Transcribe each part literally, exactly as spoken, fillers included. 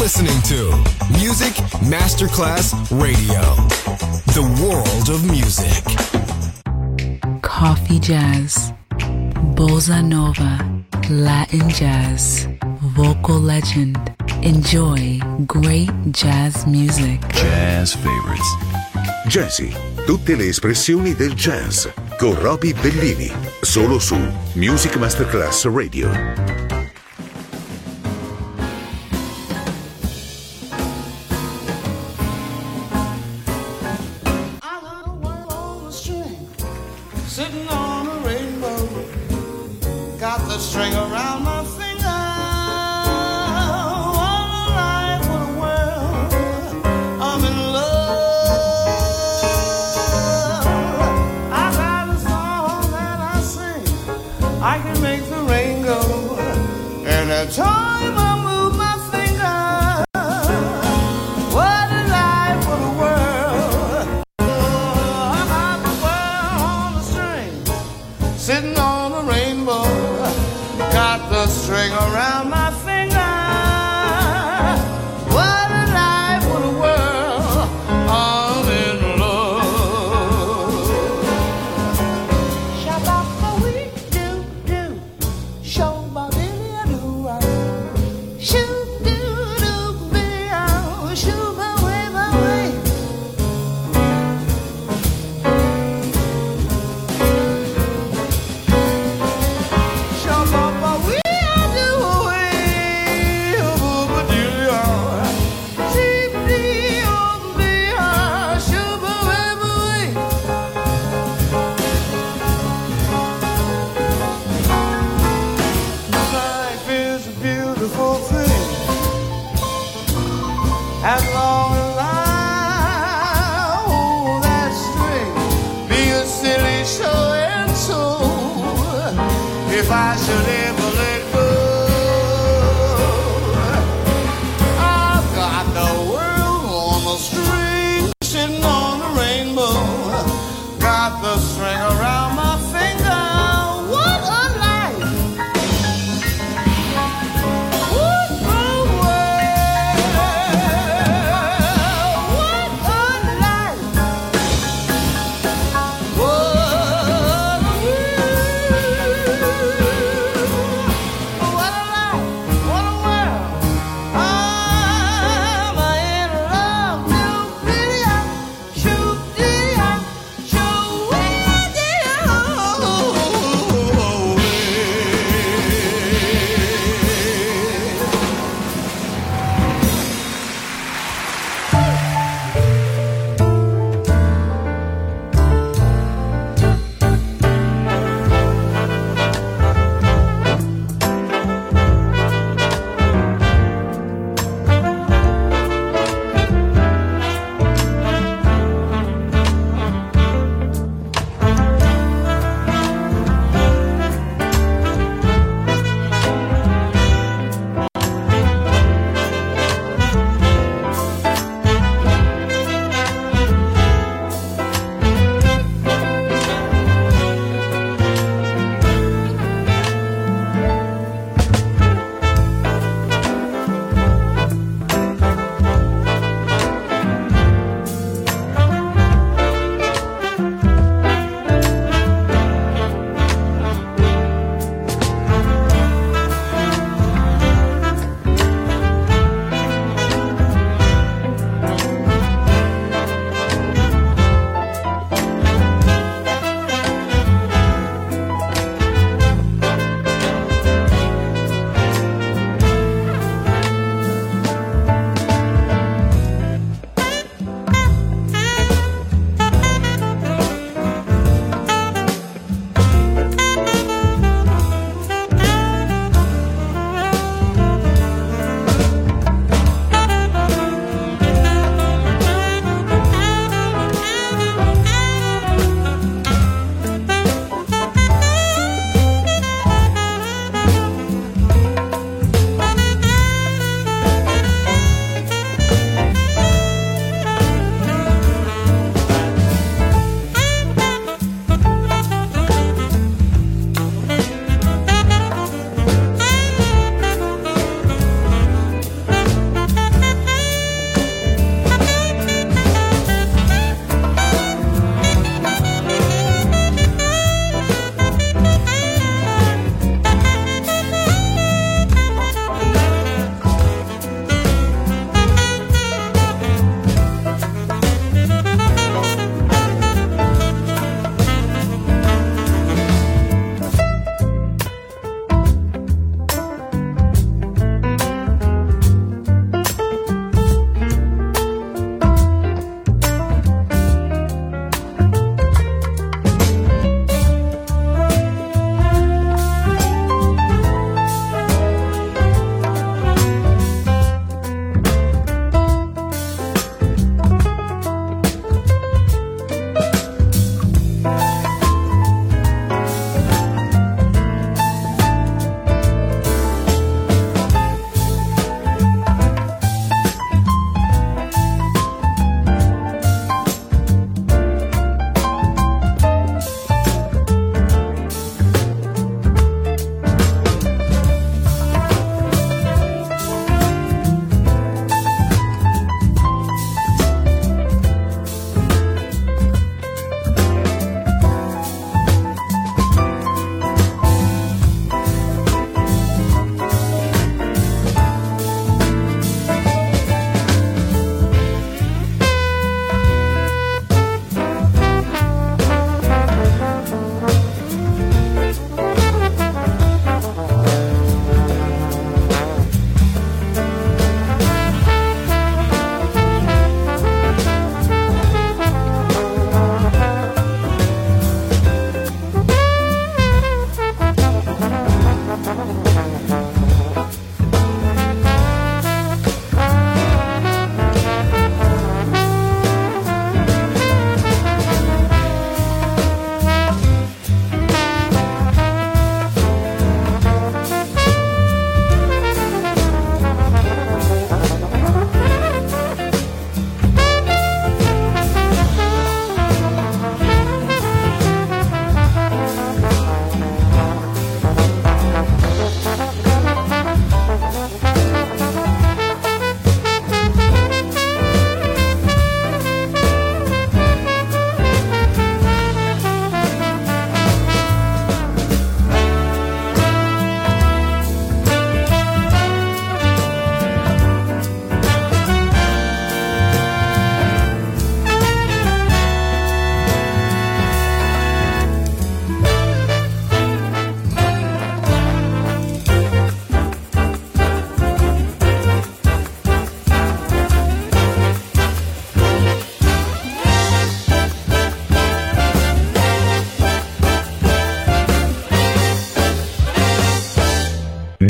listening to Music Masterclass Radio, the world of music. Coffee jazz, bossa nova, Latin jazz, vocal legend. Enjoy great jazz music. Jazz favorites. Jazzy, tutte le espressioni del jazz con Roby Bellini, solo su Music Masterclass Radio. Sitting on a rainbow, got the string around my finger. What a life, what a world, I'm in love. I got a song that I sing, I can make the rain go. Anytime I move my finger, what a life, what a world. I got the world on the string, sitting on a rainbow, got the string around my finger. What a life, what a world, I'm in love. Shabba-ba-wee-doo-doo, shoo-ba-dee-doo-ah, shoo-doo-doo-bee-ah, shoo-ba-wee-ba-wee. Life is a beautiful thing, as long as I hold that string, be a silly show and so. If I should ever let go, I've got the world on the string, sitting on a rainbow, got the string around my finger. What a life! What a world!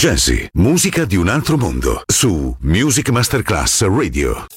Jazzy, musica di un altro mondo, su Music Masterclass Radio.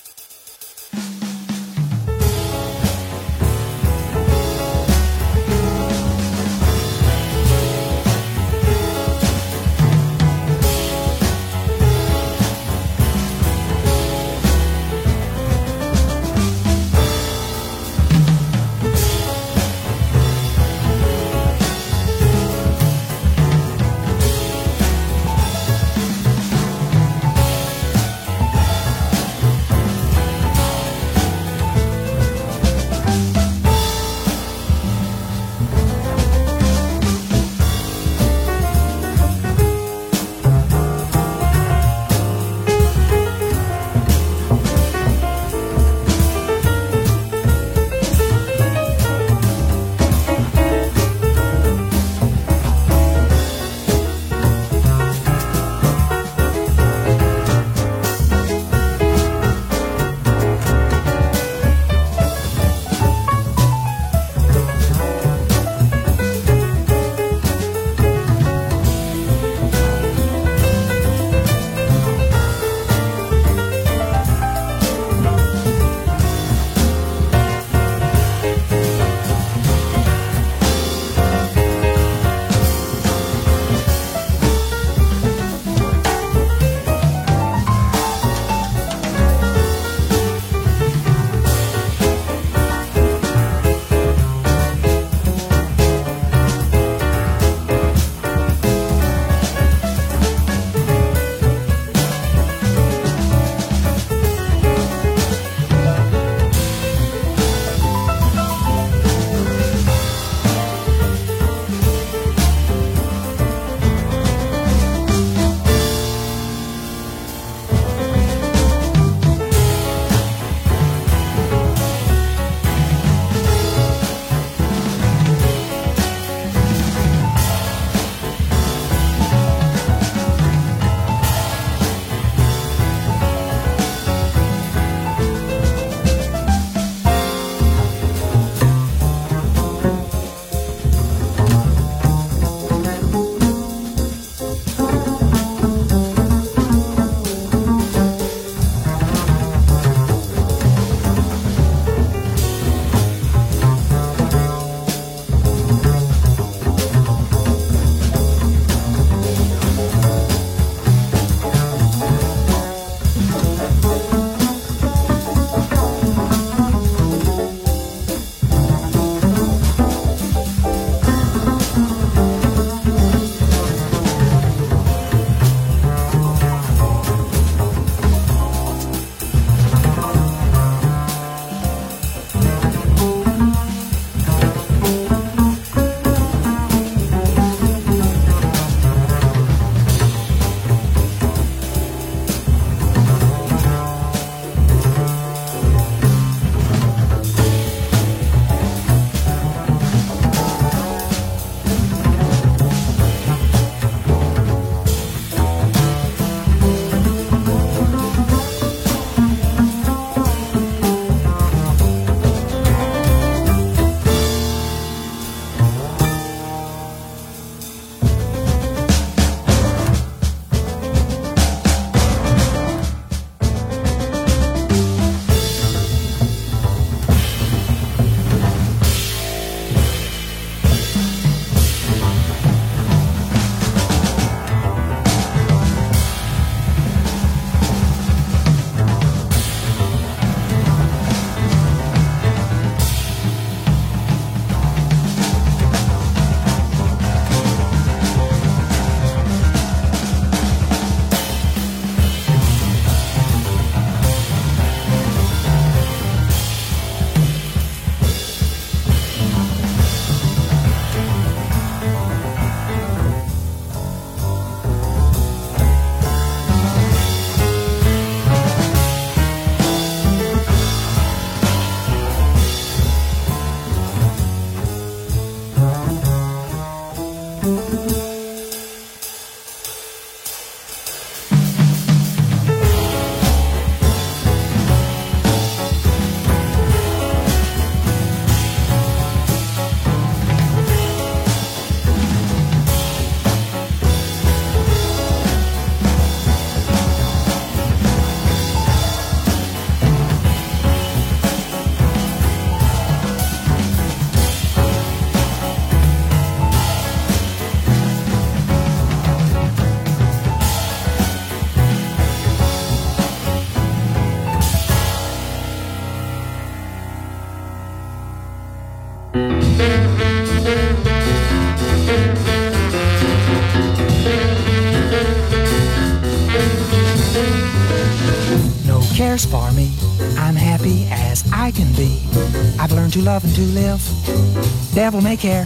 cares for me. I'm happy as I can be. I've learned to love and to live. Devil may care.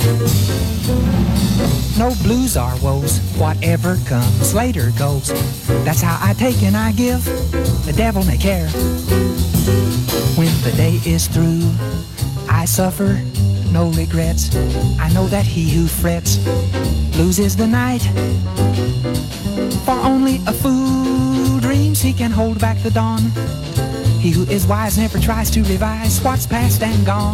No blues or woes. Whatever comes later goes. That's how I take and I give. The devil may care. When the day is through, I suffer no regrets. I know that he who frets loses the night. For only a fool dreams he can hold back the dawn. He who is wise never tries to revise what's past and gone.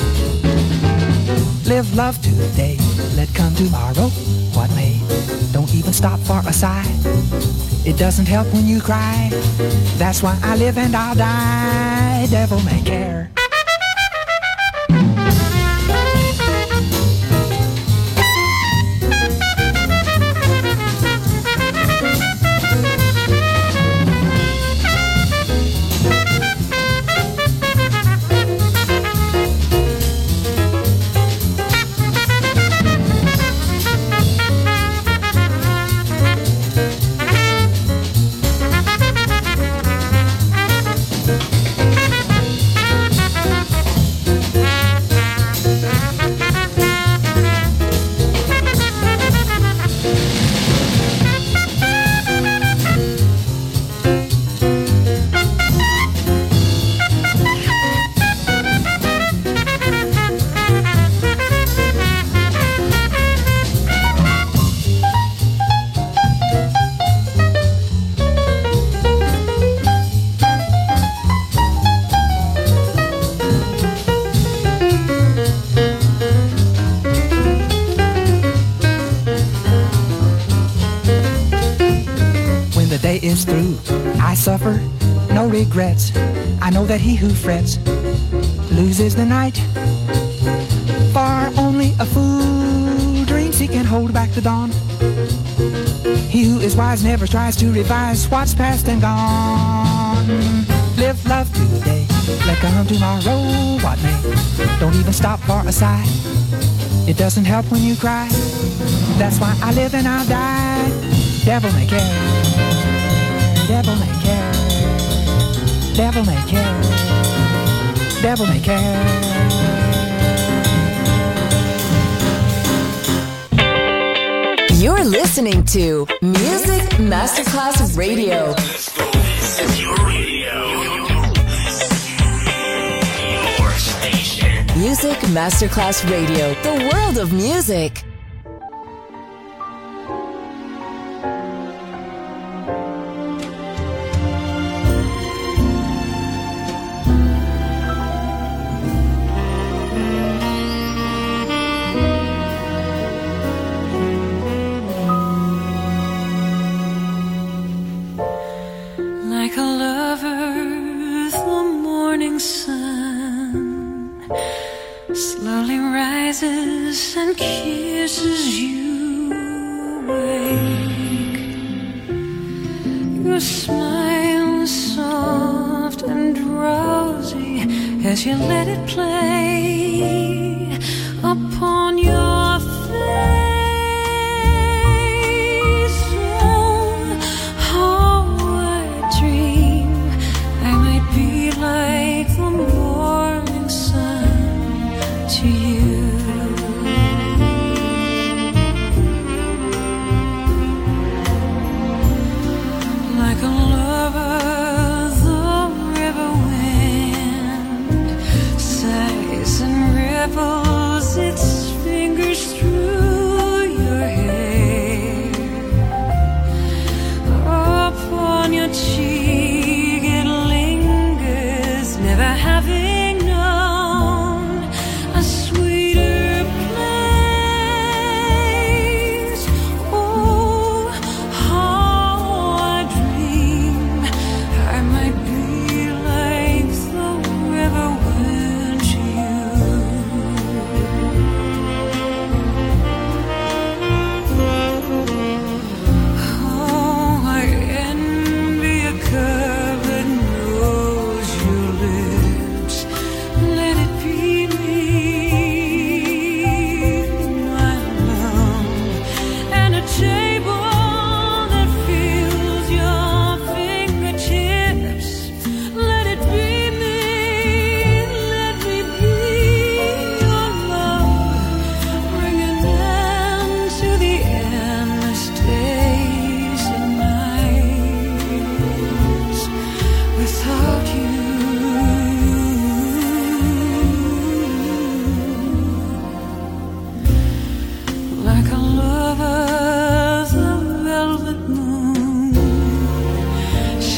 Live love today, let come tomorrow what may. Don't even stop for a sigh. It doesn't help when you cry. That's why I live and I'll die. Devil may care. Is through, I suffer no regrets. I know that he who frets loses the night. For only a fool dreams he can hold back the dawn. He who is wise never tries to revise what's past and gone. Live love today, let come tomorrow what may. Don't even stop for a sigh. It doesn't help when you cry. That's why I live and I'll die. Devil may care. Devil may care. Devil may care. Devil may care. You're listening to Music Masterclass Radio. This is your radio. Your station. Music Masterclass Radio. The world of music. And kisses you awake. Your smile is soft and drowsy as you let it play upon your face. Oh, how I dream I might be like the morning sun to you. River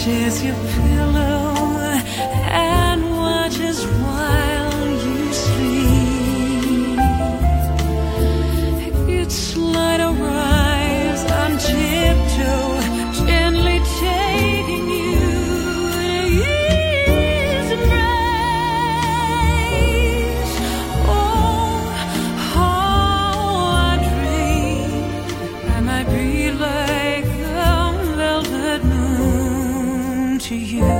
shares your pillow and watches while you sleep. Its light arrives on tiptoe, gently taking you in his embrace. Oh, how I dream I might be like the velvet moon to you.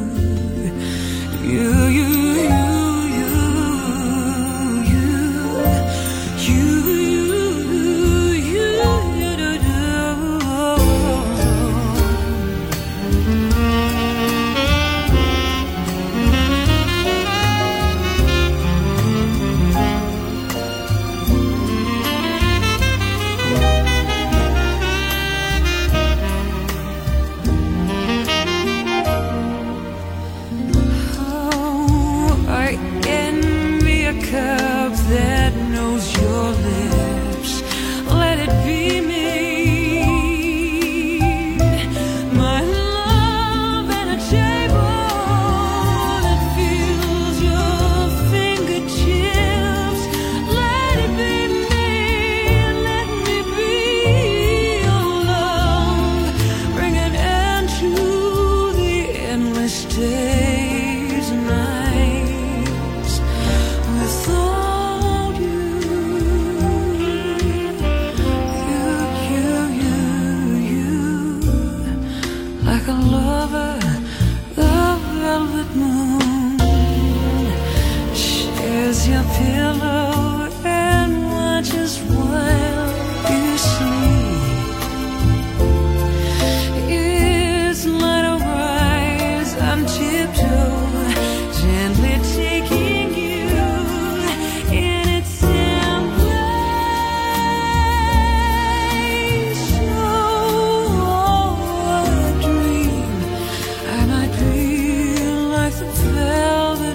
You, you, you, you, you, you, you, you, do, do. Oh, I envy a cup that knows your lips. Let it be me. My love and a table that feels your fingertips. Let it be me. Let me be your love. Bring an end to the endless days and nights without you. You, you, you, you, like a lover, the velvet moon shares your pillow and watches while you sleep. Its light arrives on tiptoe, gently taking you in its embrace. Oh, I dream I might be like the velvet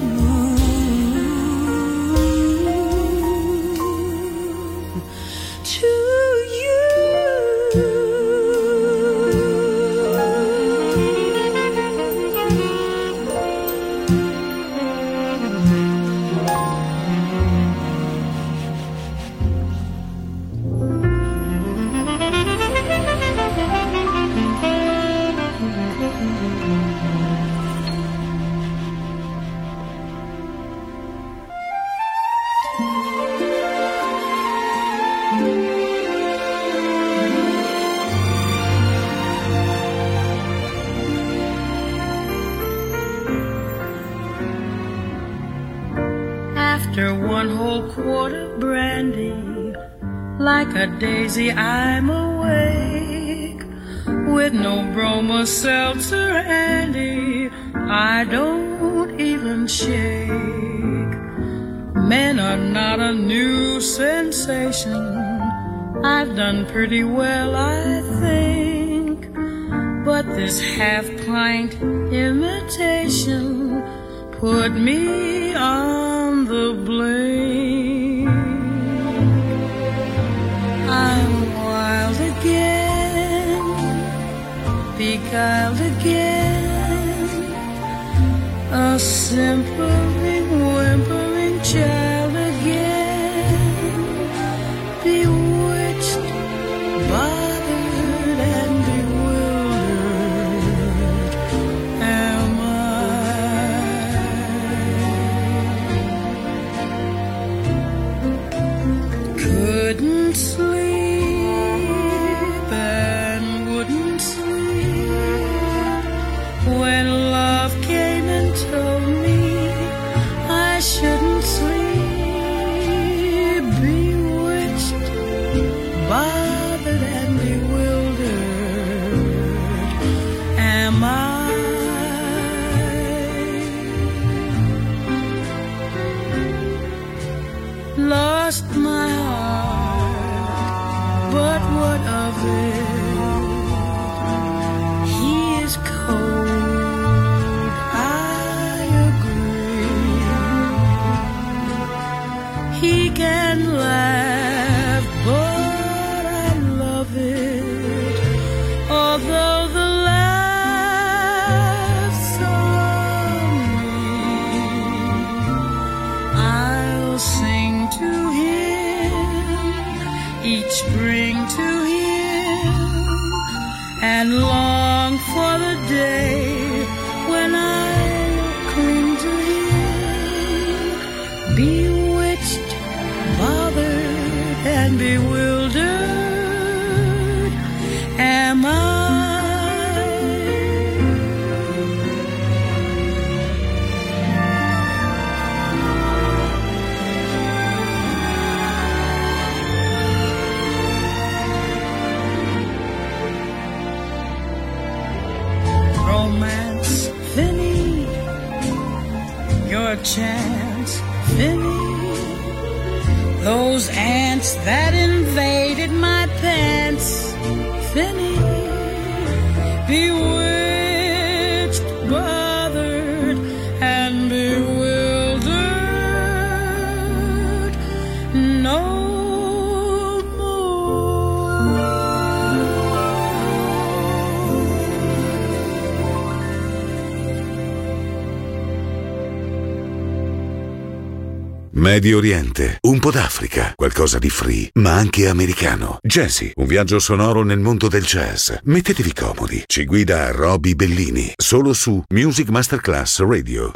moon to you. After one whole quart of brandy, like a daisy I'm awake. With no bromo seltzer handy, I don't even shake. Men are not a new sensation. I've done pretty well, I think. But this half-pint imitation put me on the blink. I'm wild again, beguiled again, a simpering, whimpering child again, bewitched, bothered, and bewildered am I. Couldn't sleep and wouldn't sleep when love came and told me I shouldn't sleep. Bewitched, bothered, and bewildered am I. Lost my heart, but what of it? He is cold, I day when I cling to him, bewitched, bothered, and bewildered am I. Romance, Finny, your chance, Finny. Those ants that invaded my pants, Finny. Bewitched, bothered, and bewildered, no. Medio Oriente, un po' d'Africa, qualcosa di free, ma anche americano. Jazzy, un viaggio sonoro nel mondo del jazz. Mettetevi comodi. Ci guida Roby Bellini, solo su Music Masterclass Radio.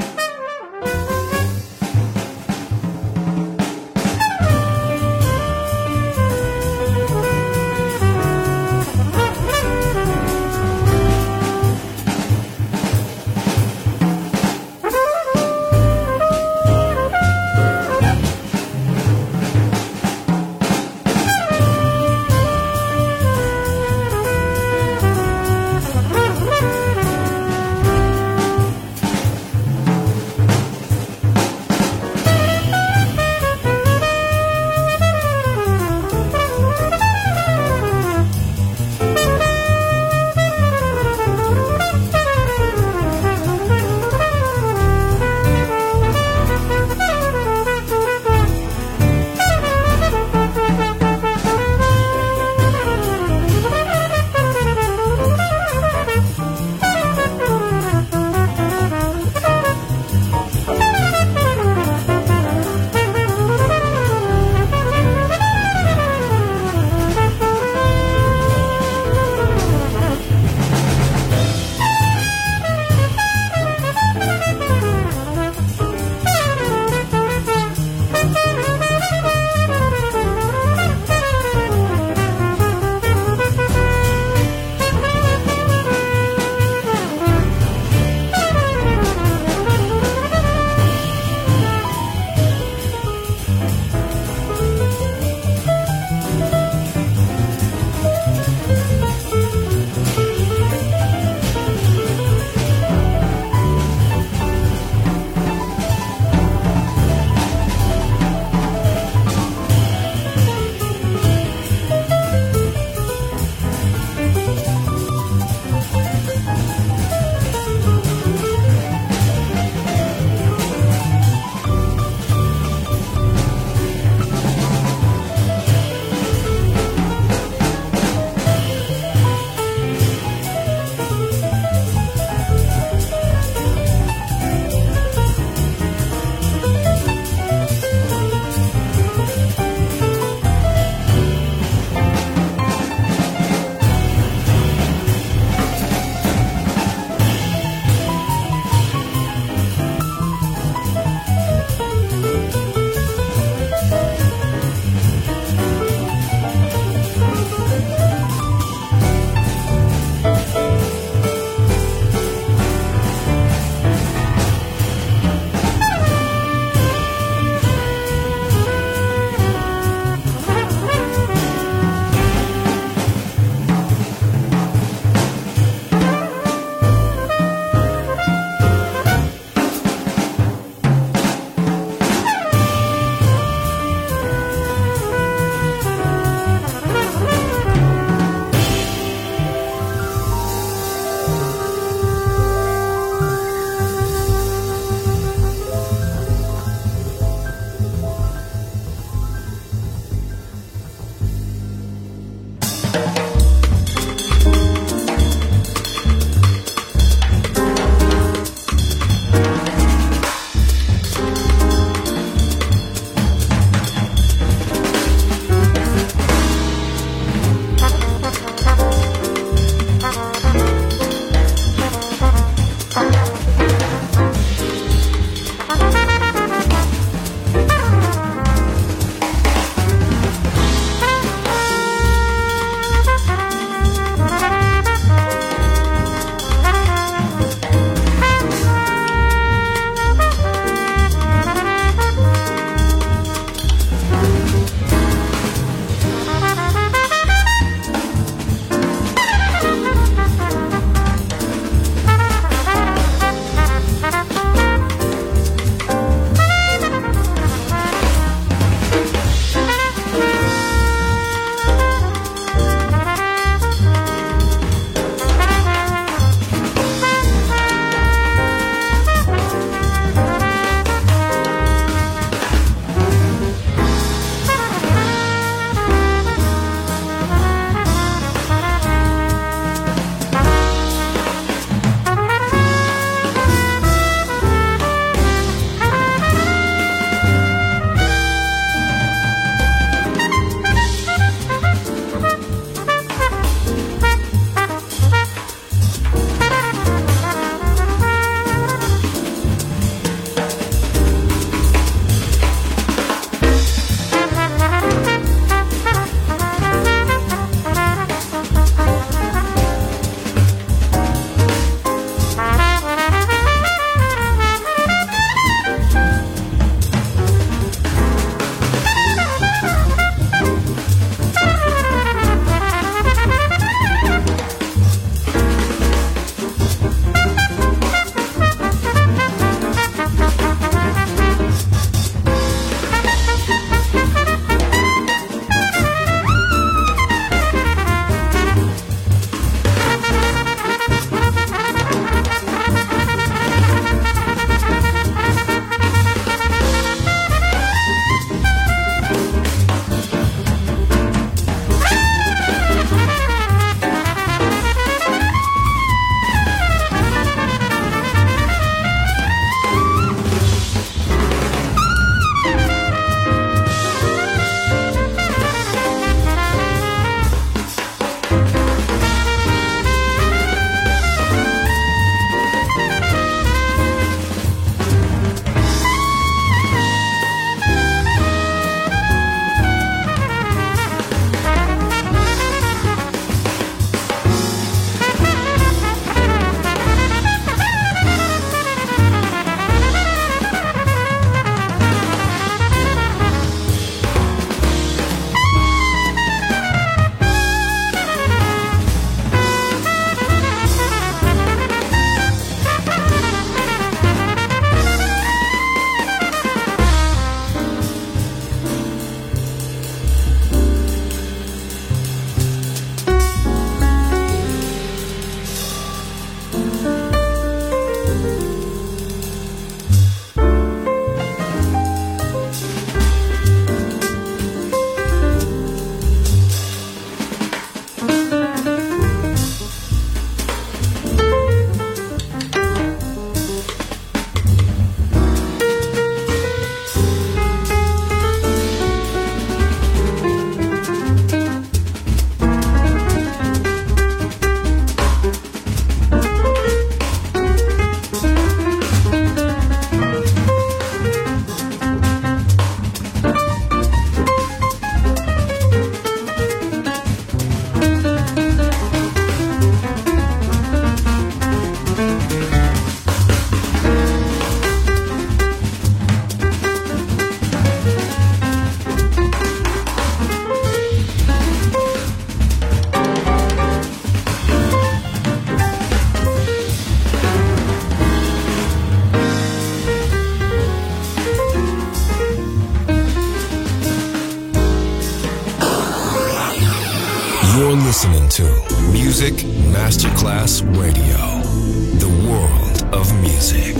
listening to Music Masterclass Radio, the world of music.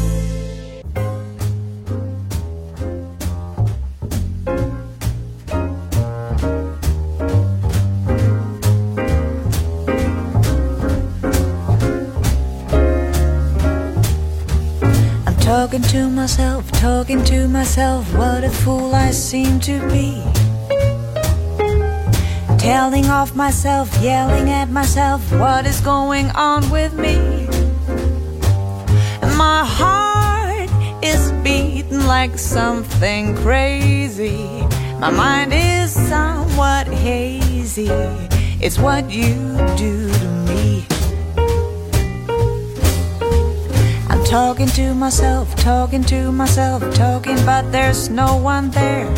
Talking to myself, talking to myself, what a fool I seem to be. Telling off myself, yelling at myself, what is going on with me? My heart is beating like something crazy. My mind is somewhat hazy. It's what you do to me. Talking to myself, talking to myself, talking, but there's no one there.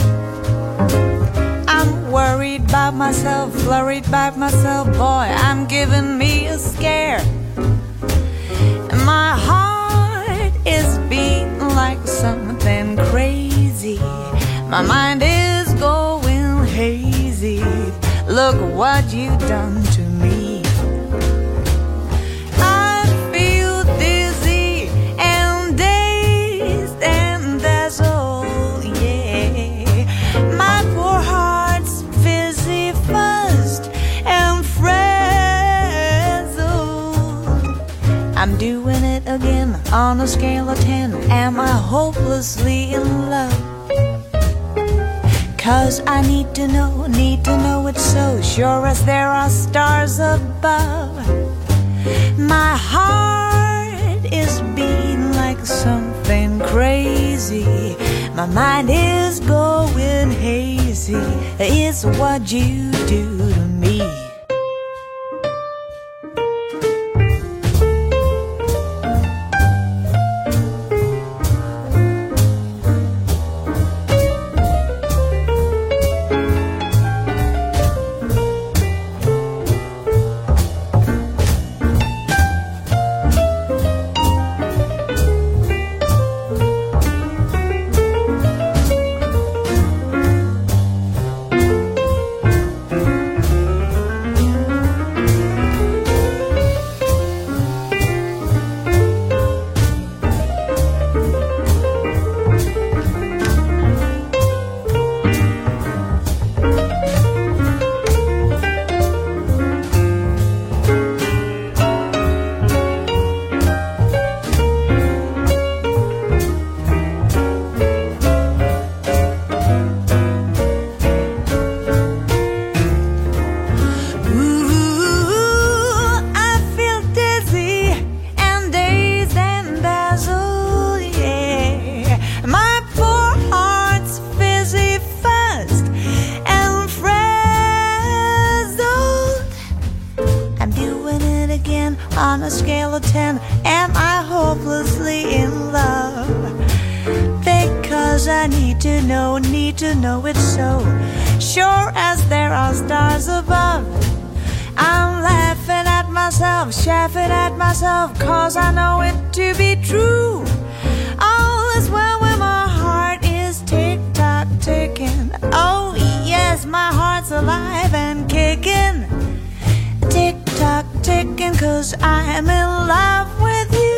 I'm worried about myself, flurried about myself, boy, I'm giving me a scare. My heart is beating like something crazy. My mind is going hazy. Look what you've done to me. I'm doing it again on a scale of ten. Am I hopelessly in love? Cause I need to know, need to know it's so, sure as there are stars above. My heart is beating like something crazy. My mind is going hazy. It's what you do to me. On a scale of ten, am I hopelessly in love? Because I need to know, need to know it's so, sure as there are stars above. I'm laughing at myself, chaffing at myself, cause I know it to be true. All is well when my heart is tick-tock ticking. Oh yes, my heart's alive and kicking. Tick-tock ticking, cause I'm in love with you.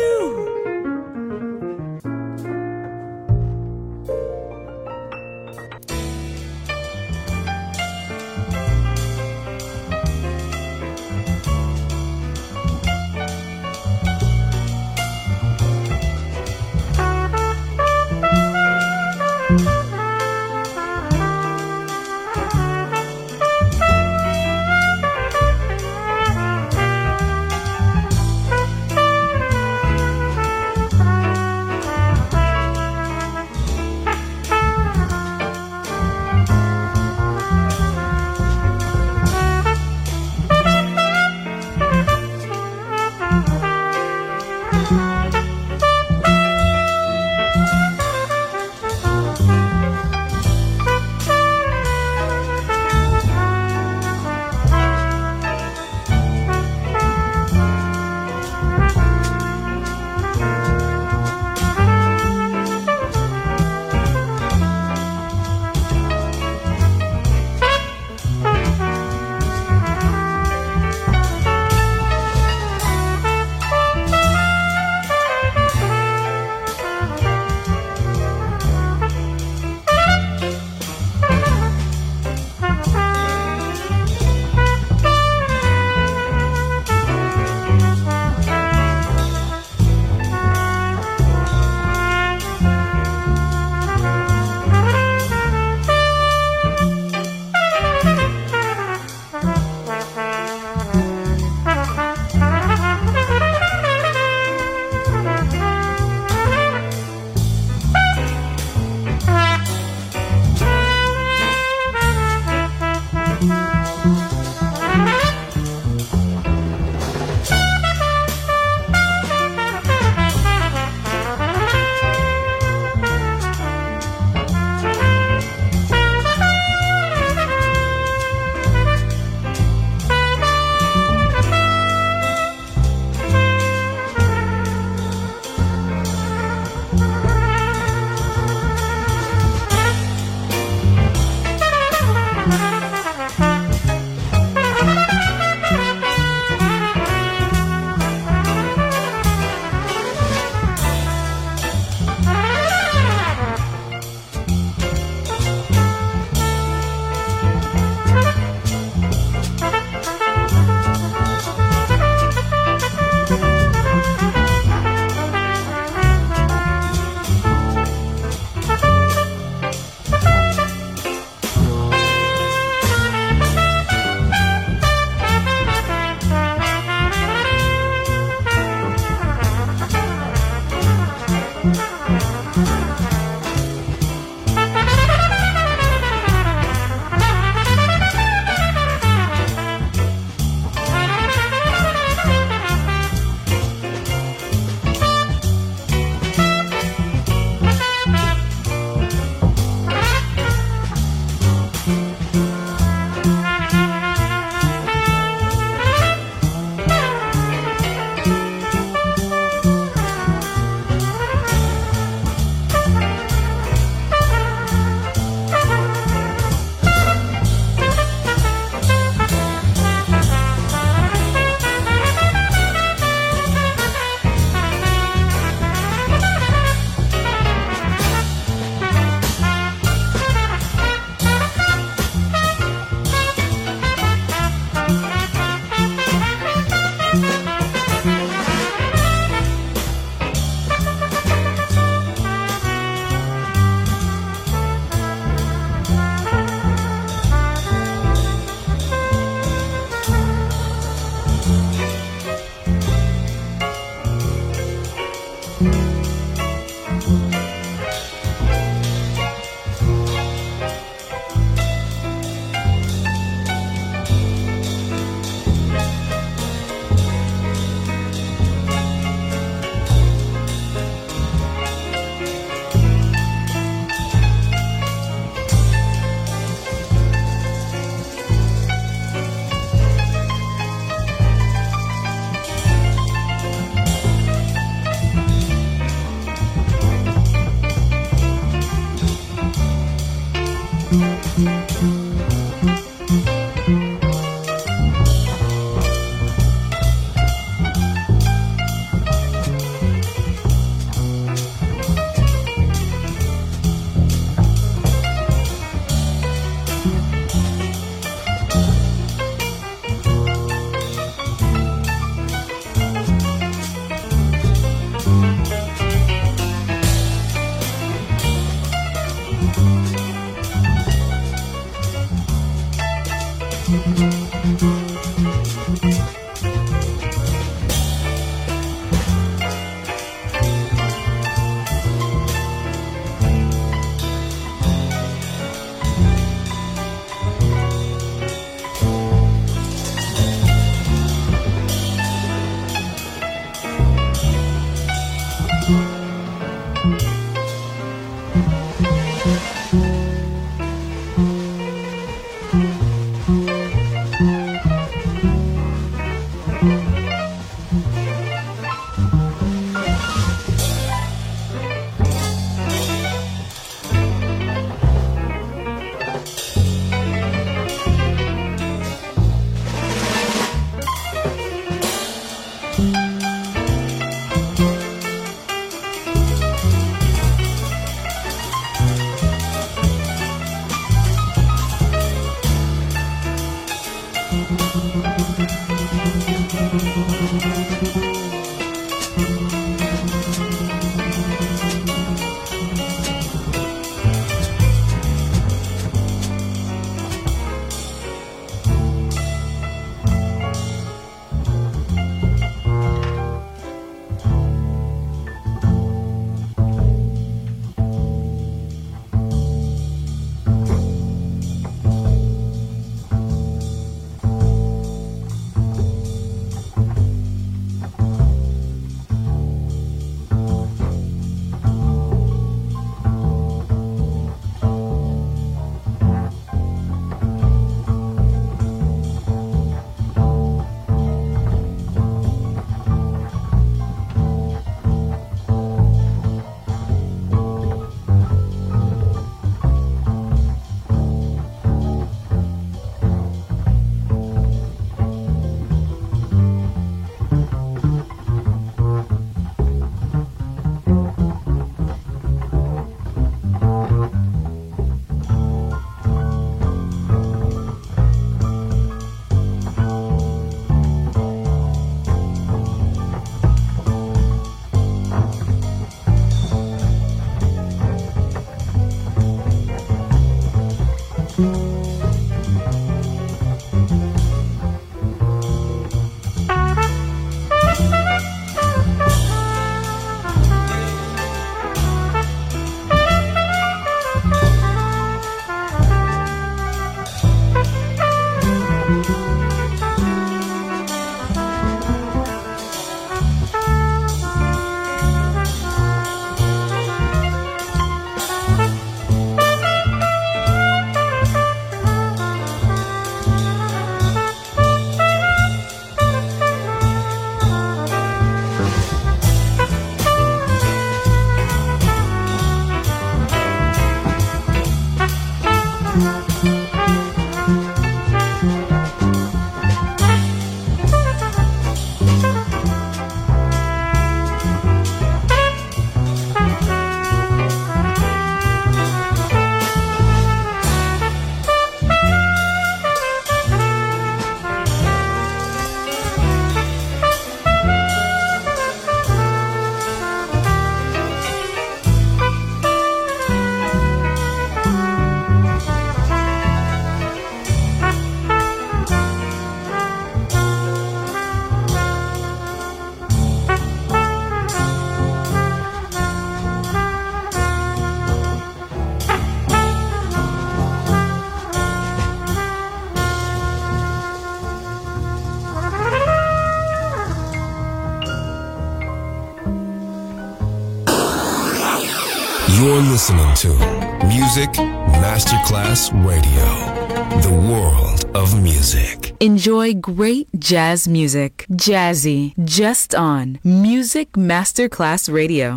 You're listening to Music Masterclass Radio, the world of music. Enjoy great jazz music. Jazzy, just on Music Masterclass Radio.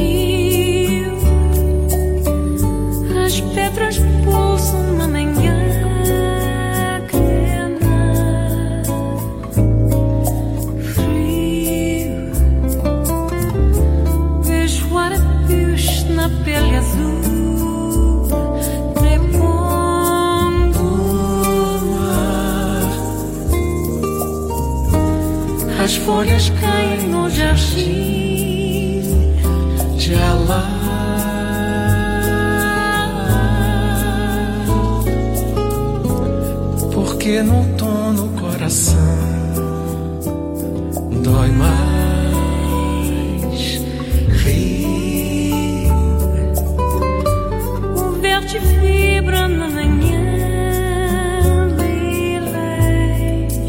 pedras pulsam na manhã. folhas caem no jardim de Alá. Porque no tom no coração dói mais rir. O verde vibra na manhã lilás.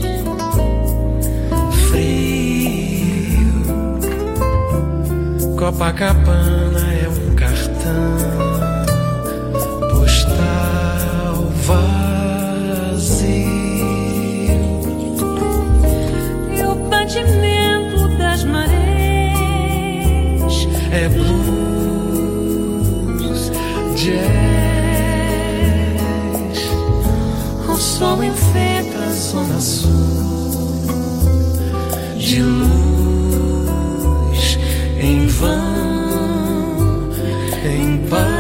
Frio. Copacabana é um cartão postal vazio. E o batimento das marés é blues, jazz. O sol enfeita a zona sul de luz em vão, em paz.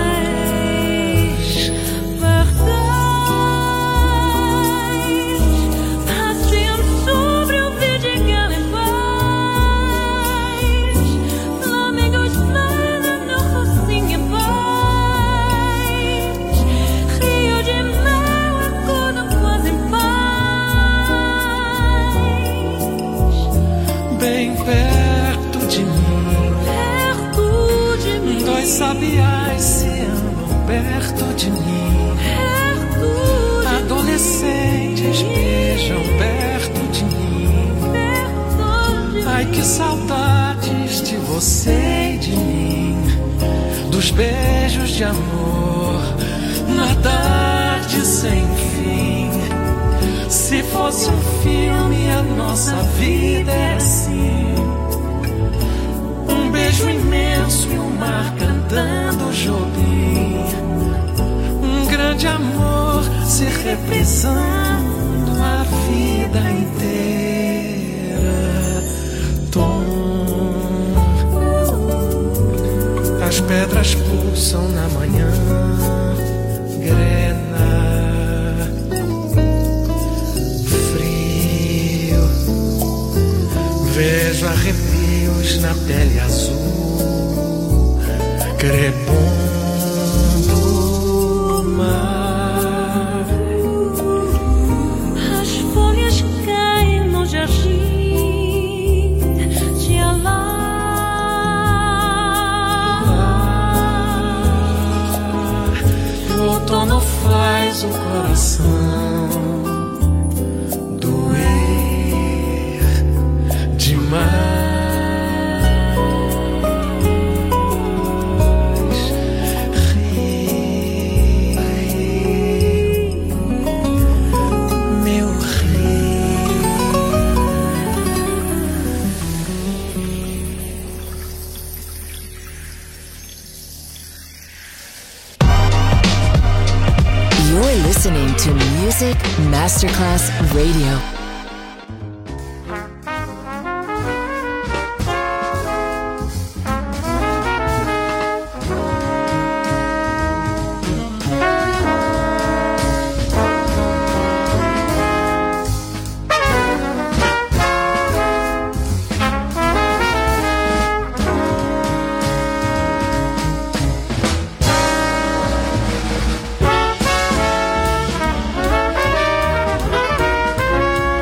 Sabiás se amam perto de mim. Adolescentes beijam perto de mim. Ai, que saudades de você e de mim. Dos beijos de amor na tarde sem fim. Se fosse um filme, a nossa vida é assim. Um beijo imenso e o mar cantando Jobim. Um grande amor se reprisando a vida inteira. Tom. As pedras pulsam na manhã grena. Frio. Vejo arrepios na pele azul, crepom do mar. As folhas caem no jardim de Alá. O outono faz o coração doer demais. Listening to Music Masterclass Radio. Thank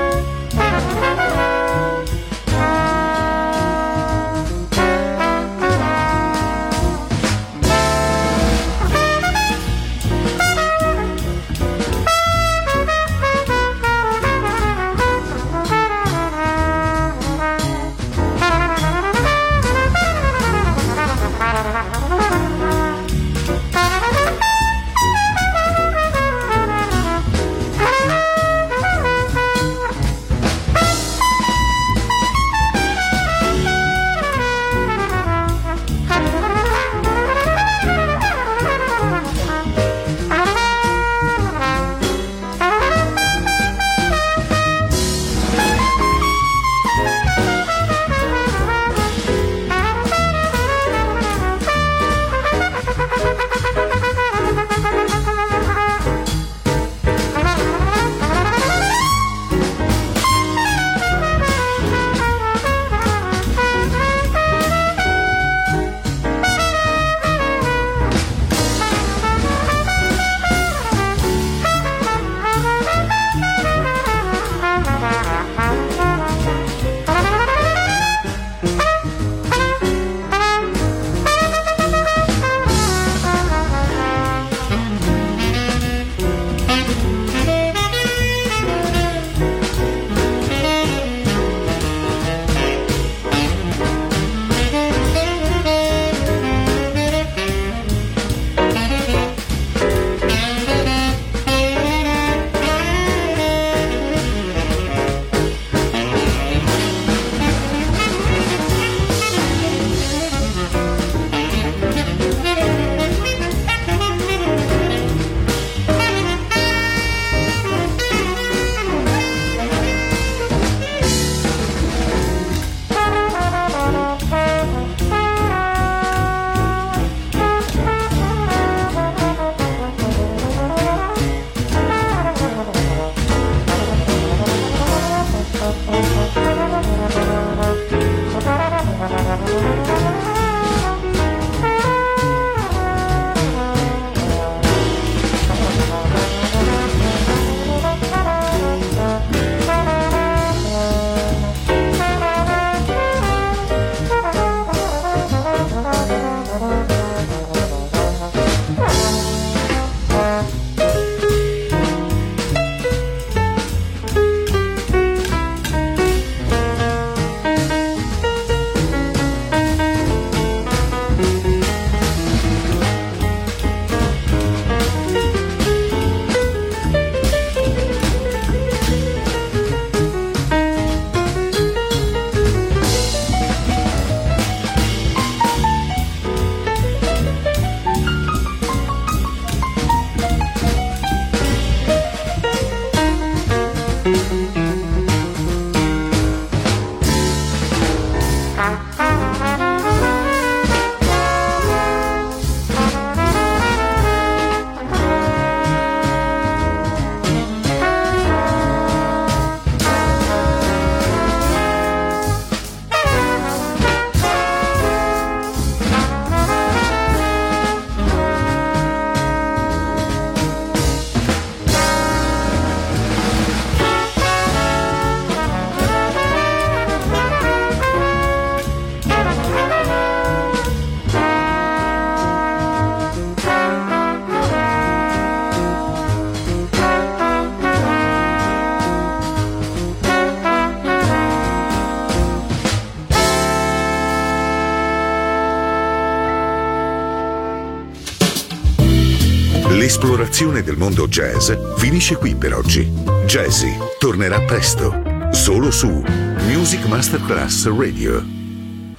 L'esplorazione del mondo jazz finisce qui per oggi. Jazzy tornerà presto, solo su Music Masterclass Radio.